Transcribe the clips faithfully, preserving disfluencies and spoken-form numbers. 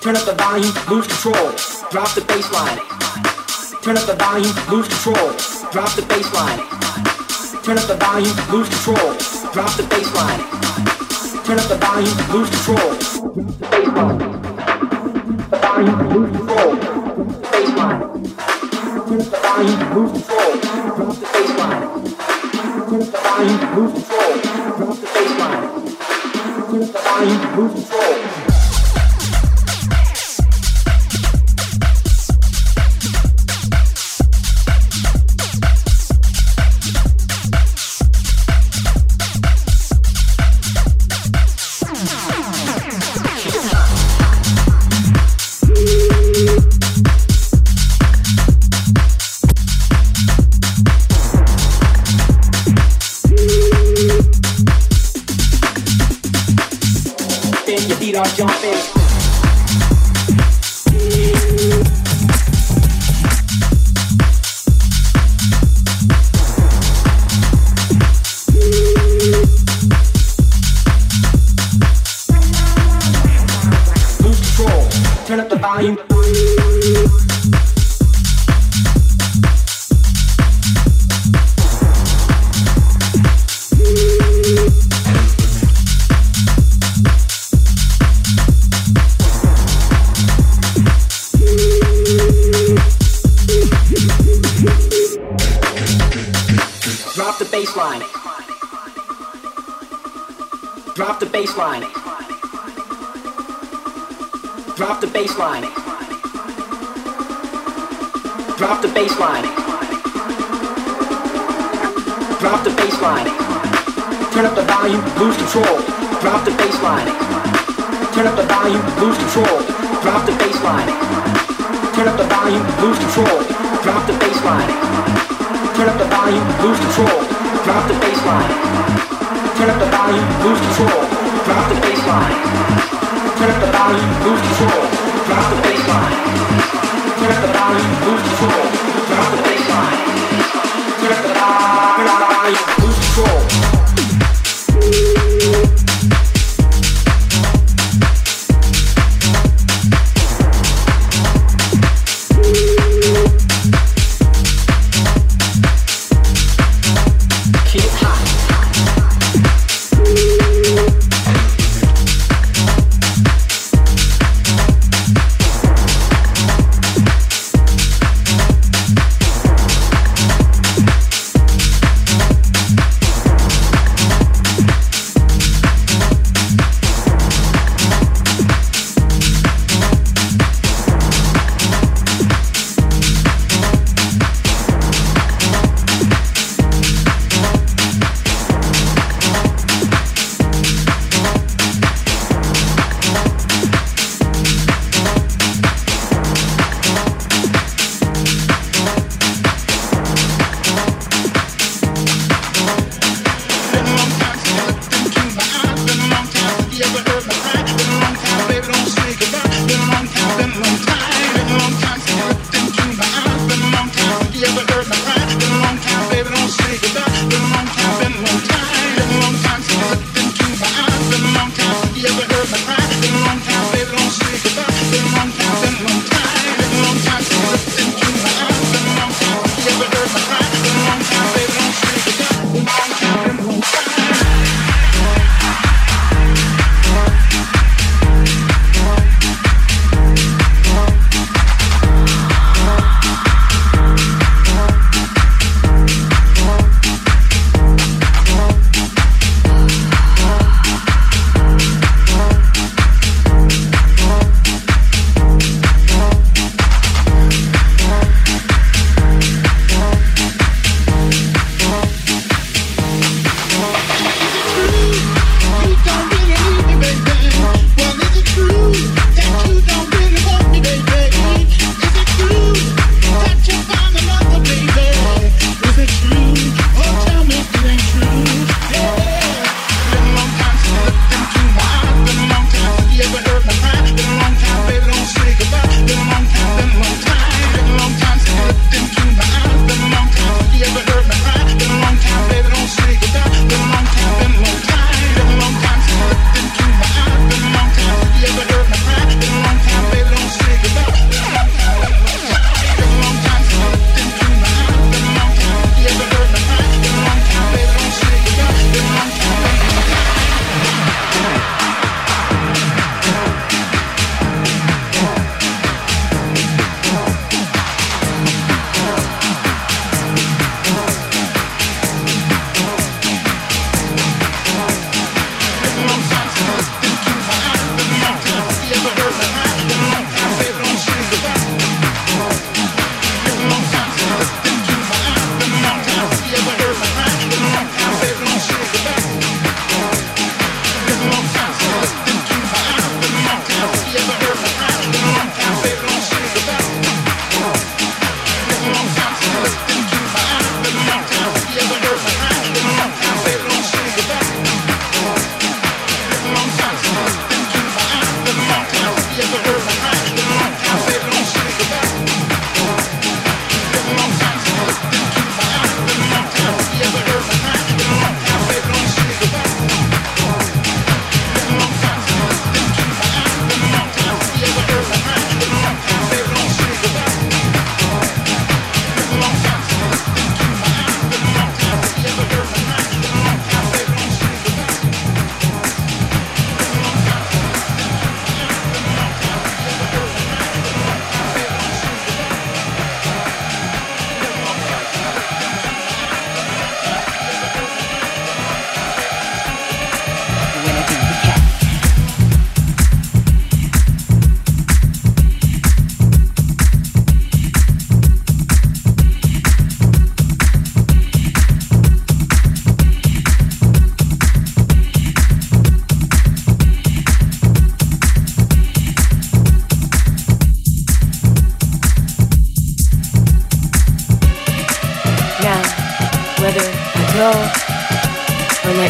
Turn up the volume, lose control. Drop the bass line. Turn up the volume, lose control. Drop the bass line. Turn up the volume, lose control. Drop the bass line. Turn up the volume, lose control. The bass line. The volume, lose control. The bass line. Turn up the volume, lose control. Drop the bass line. Turn up the volume, lose control. Drop the bass line. Turn up the volume, lose control. Jump in. Lose control. Turn up the volume. Drop the bass line. Drop the bass line. Drop the bass line. Drop the bass line. Drop the bass line. Turn up the volume, lose control. Drop the bass line. Turn up the volume, lose control. Drop the bass line. Turn up the volume, lose control. Drop the bass line. Turn up the volume, lose control. Drop the bass line. Turn up the volume, lose control. Drop the bass line. Turn up the volume, lose control. Drop the bass line. Turn up the volume, lose control. Drop the bass line. Turn up the volume, lose control.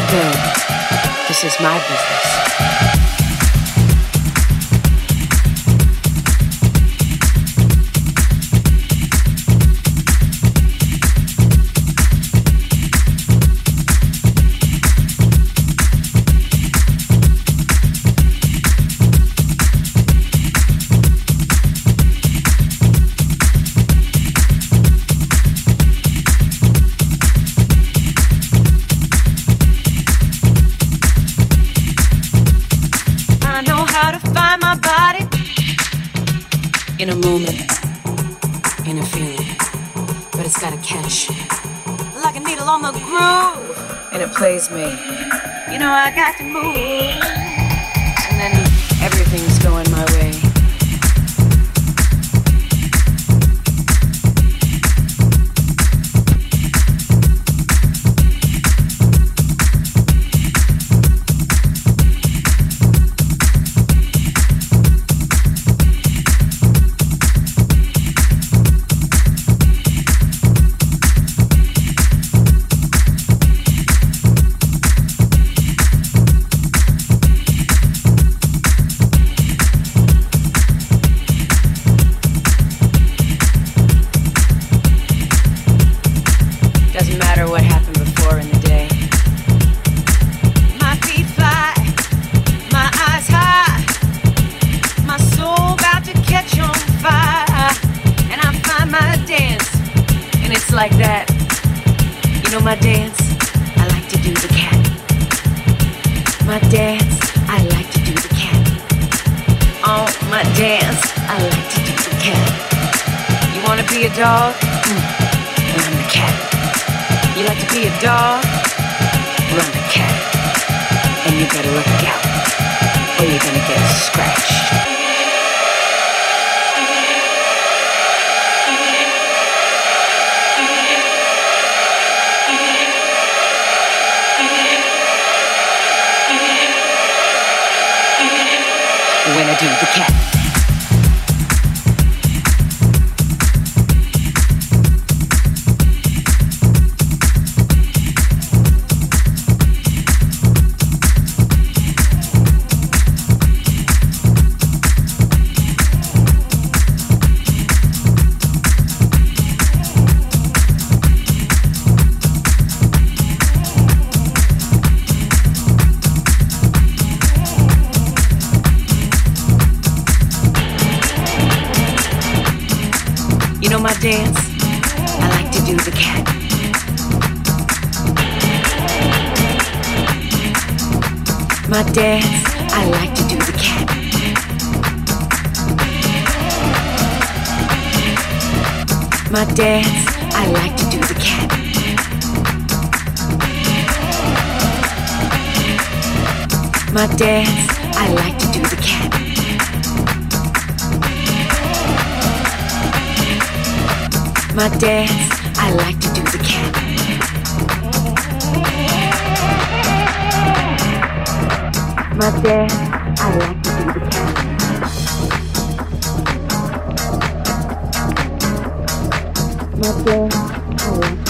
Good. This is my business. In a moment, in a feeling, but it's got a catch. Like a needle on the groove, and it plays me. You know I got to move, and then everything's going my way. Like that, you know my dance, I like to do the cat. My dance, I like to do the cat. Oh, my dance, I like to do the cat. You wanna be a dog? Mm. Well, I'm the cat. You like to be a dog? Well, I'm the cat. And you better look out, or you're gonna get scratched. When I do the cat. My dance, I like to do the cat. My dance, I like to do the cat. My dance, I like to do the cat. My dance, I like to do the cat. My dance, I like to do the cat. My dance, I like to do the cat. My dance, I like to do the cat.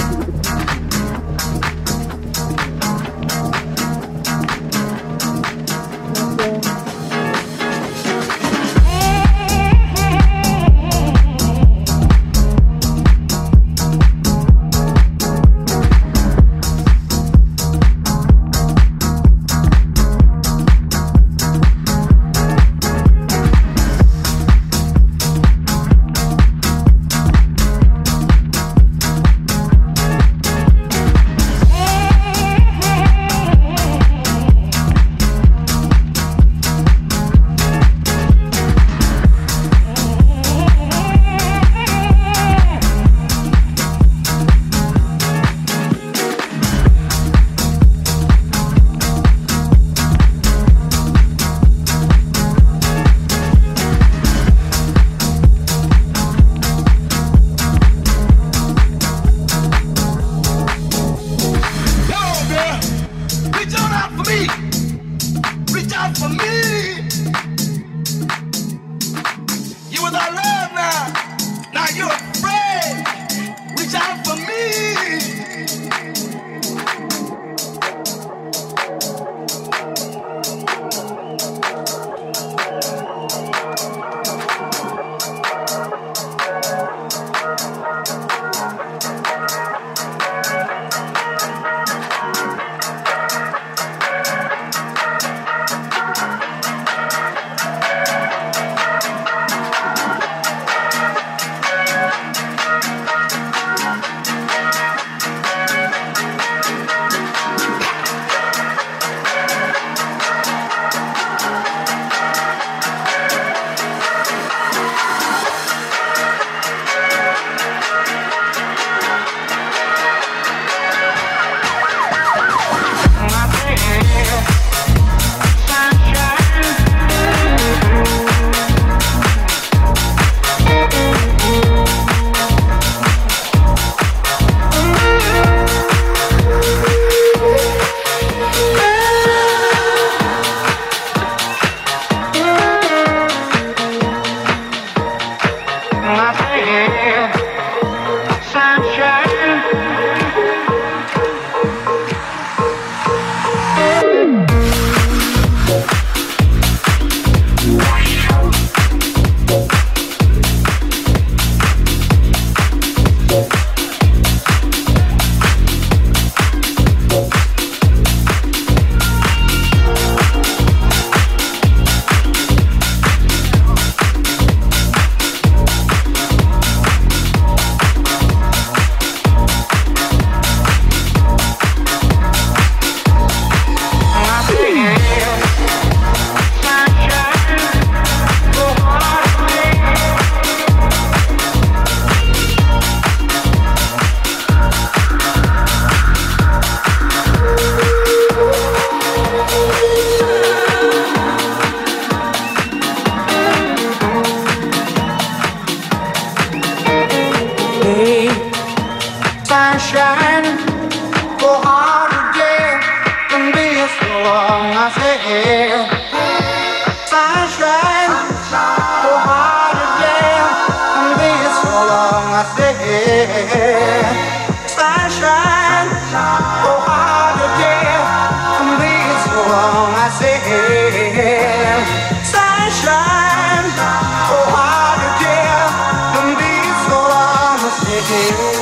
long I say sunshine, oh hard again. And been so long I say sunshine, oh hard again. And been so long I say sunshine, oh hard again. And been so long I say.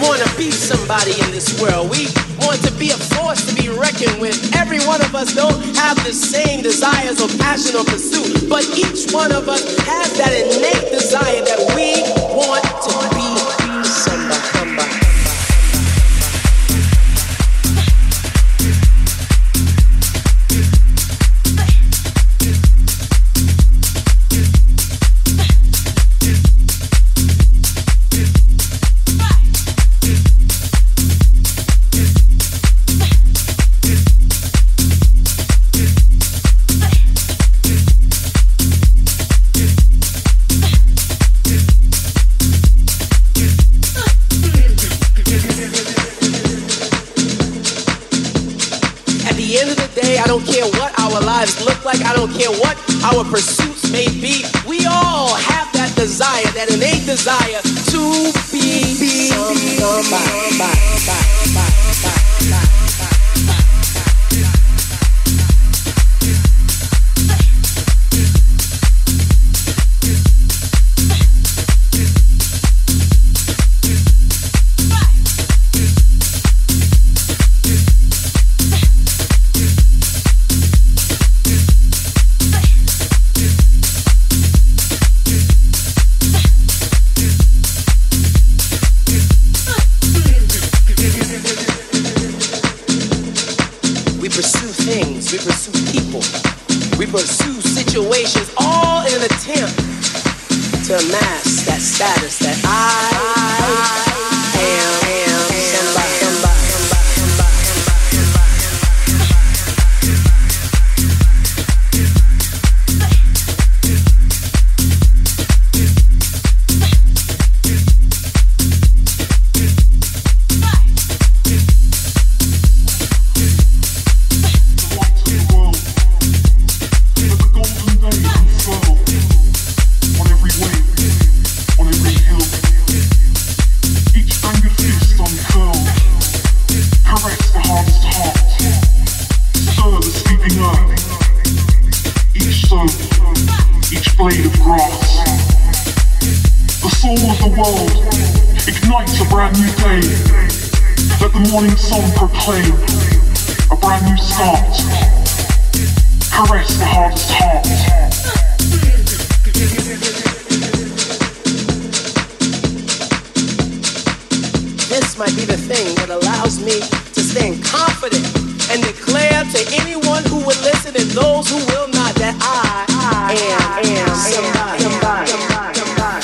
want to be somebody in this world. We want to be a force to be reckoned with. Every one of us don't have the same desires or passion or pursuit, but each one of us has that innate desire that we want to be somebody. somebody. Look like I don't care what our pursuits may be. We all have that desire, that innate desire to be, be somebody. To amass that status that I, I am, am somebody, somebody, morning sun proclaim a brand new start. Caress the hardest heart. This might be the thing that allows me to stand confident and declare to anyone who will listen and those who will not that I, I am, am somebody. somebody, somebody, somebody.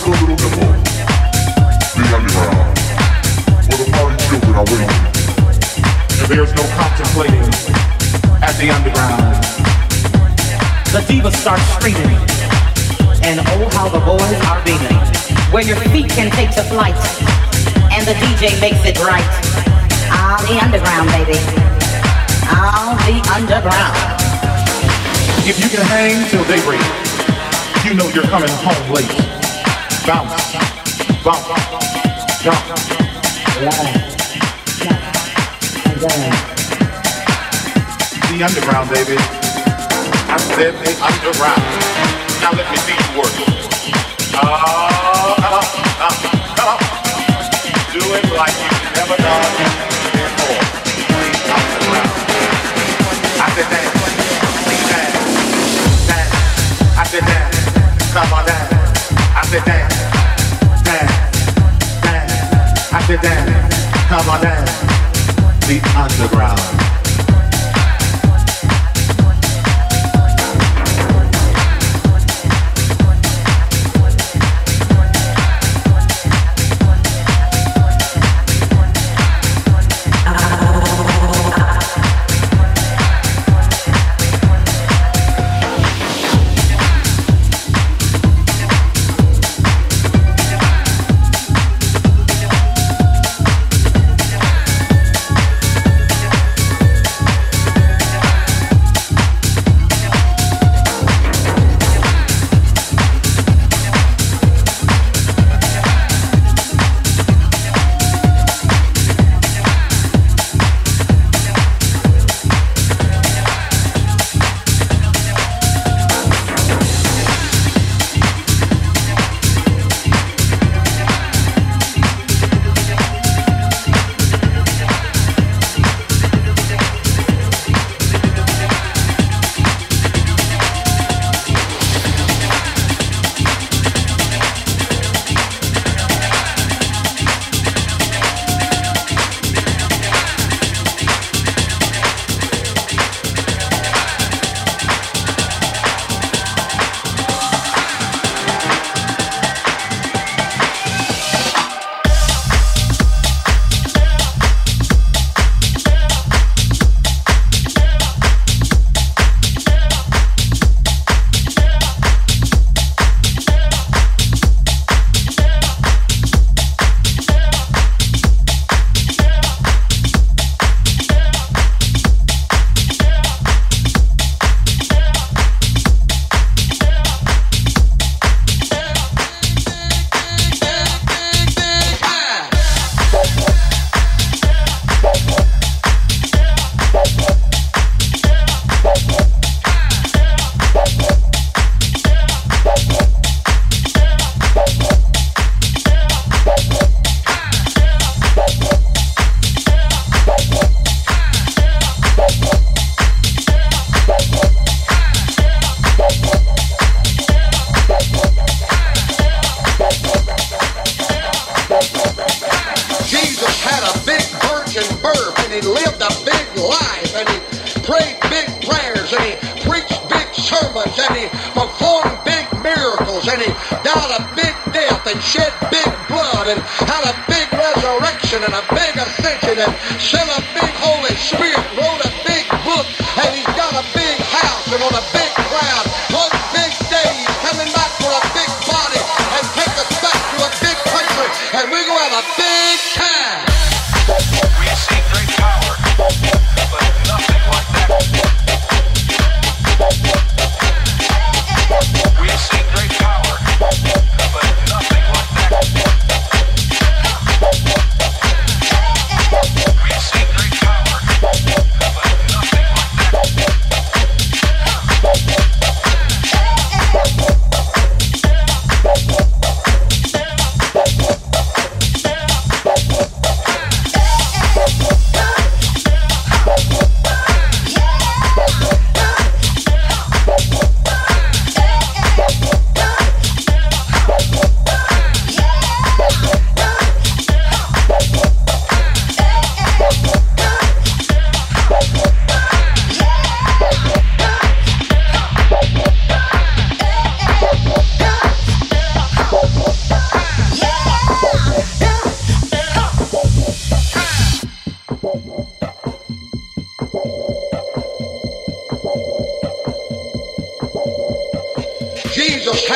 your little nipple. The underground, where the party children are waiting. And there's no contemplating at the underground. The divas start screaming, and oh how the boys are beaming. Where your feet can take to flight, and the D J makes it right. Ah, the underground, baby. Ah, the underground. If you can hang till daybreak, you know you're coming home late. Bounce, bounce, jump, the underground, baby. I said the underground. Now let me see you work. Oh, come on, come on, come on. Do it like you've never done before. The underground. I said dance, dance, dance. I said dance, come on dance. I said dance, dance, dance. I said dance, come on dance. The underground.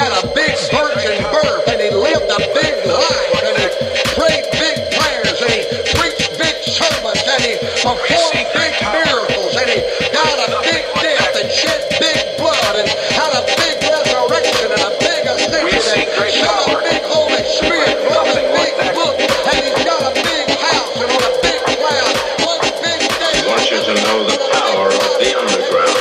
had a big virgin birth, and he lived a big life, and he prayed big prayers, and he preached big sermons, and he performed big miracles, and he died a big death, and shed big blood, and had a big resurrection, and a big ascension, and shot a big Holy Spirit, wrote a big book, and he's got a big house, and on a big cloud, one big day. I want you to know the power of the underground.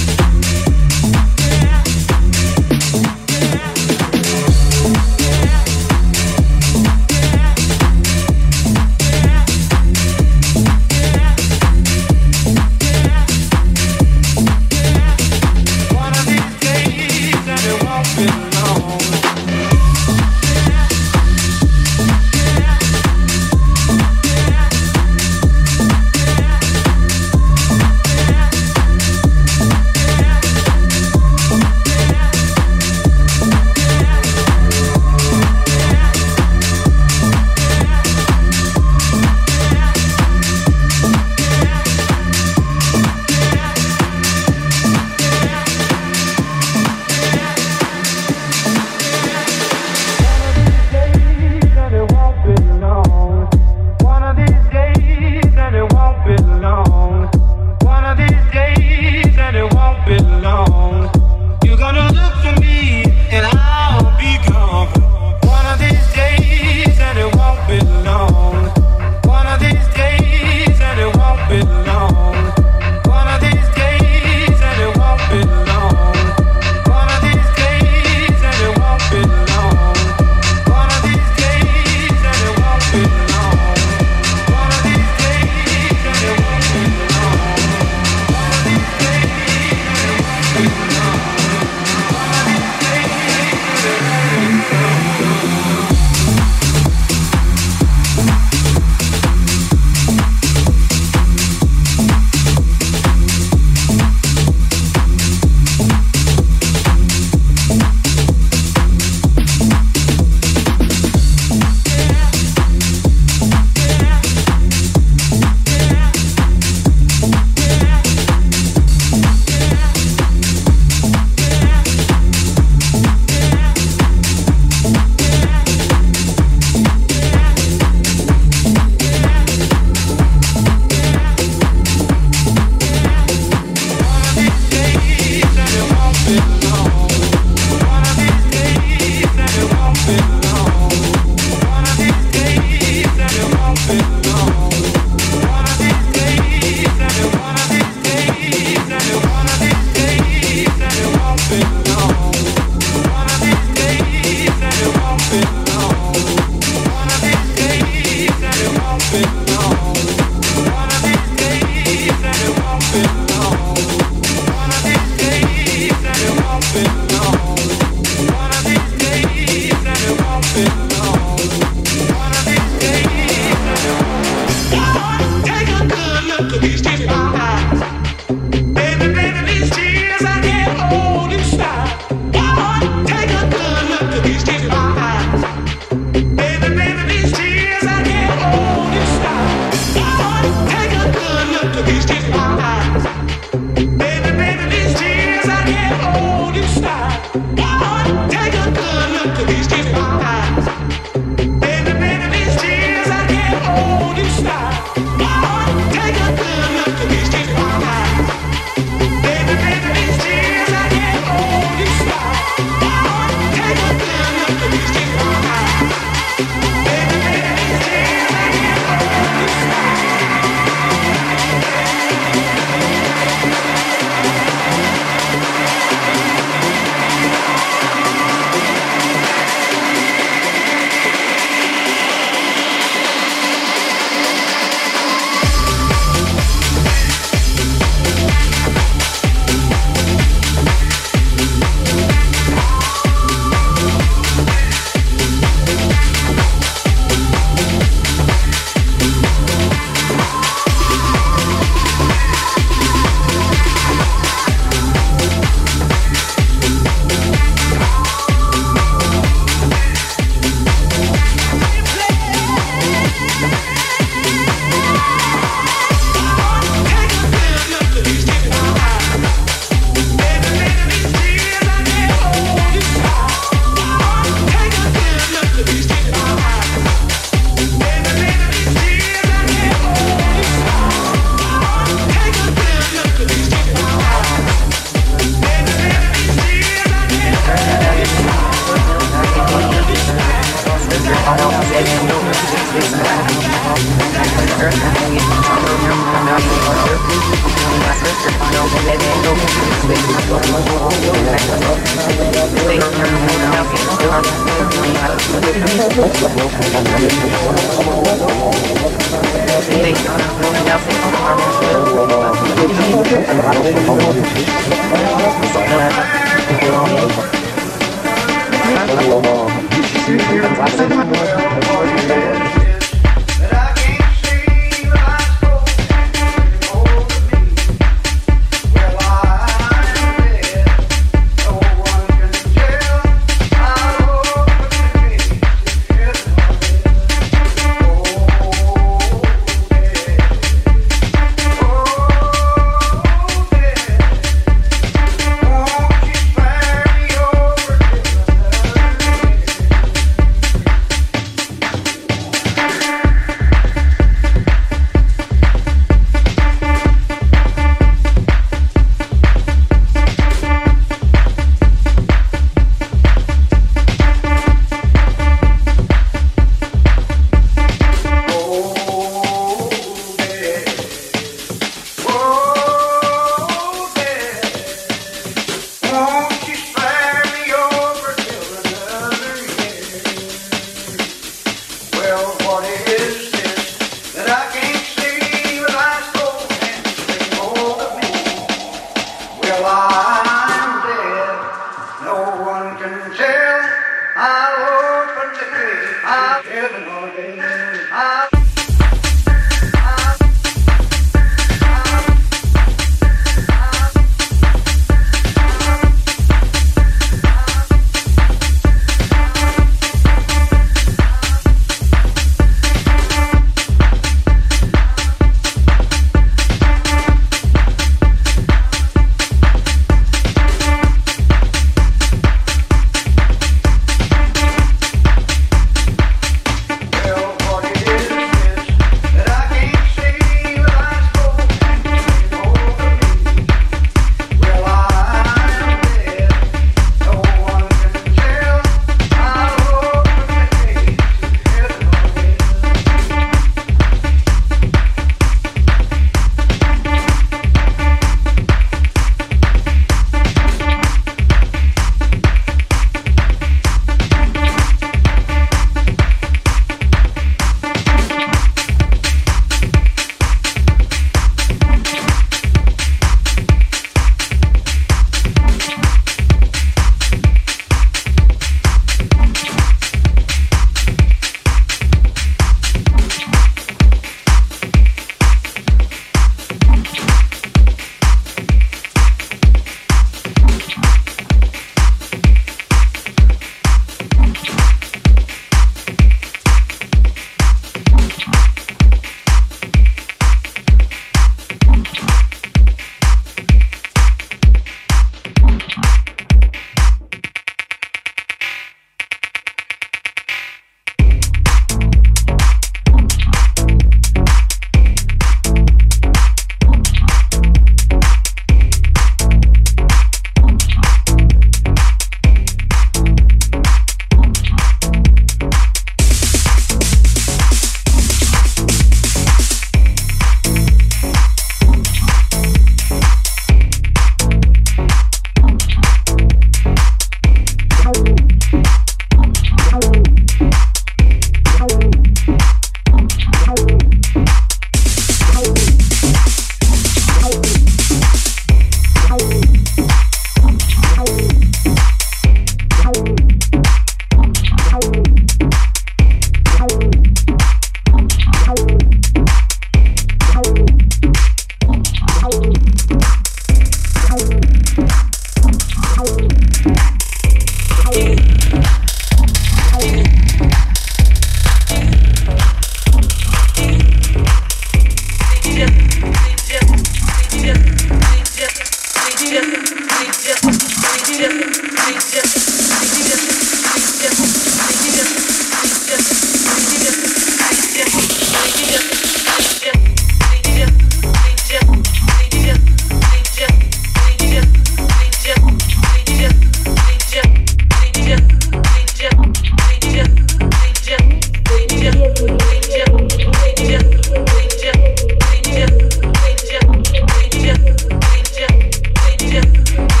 Yeah.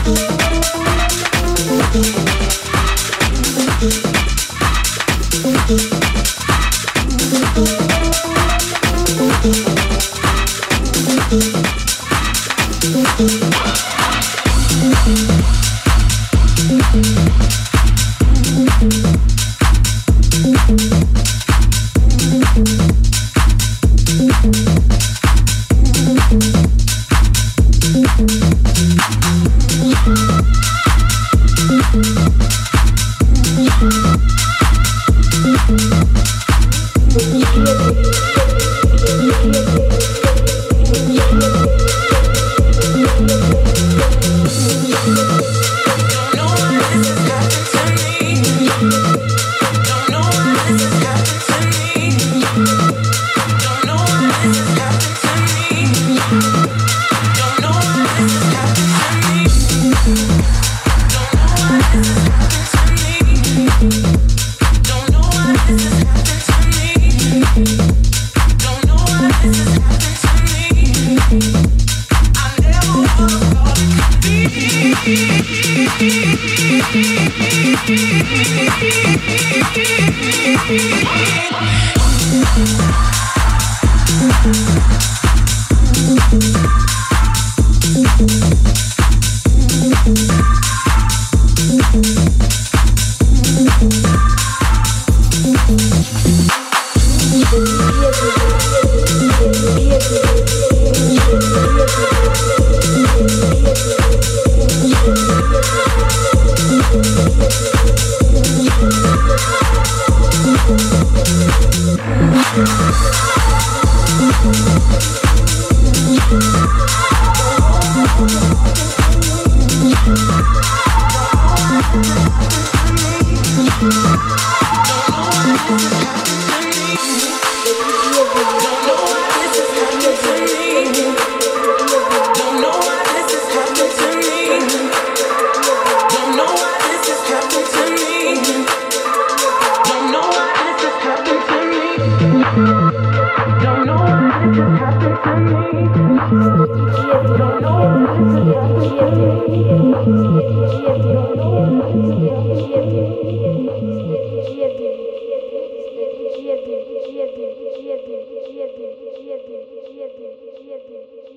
Yeah,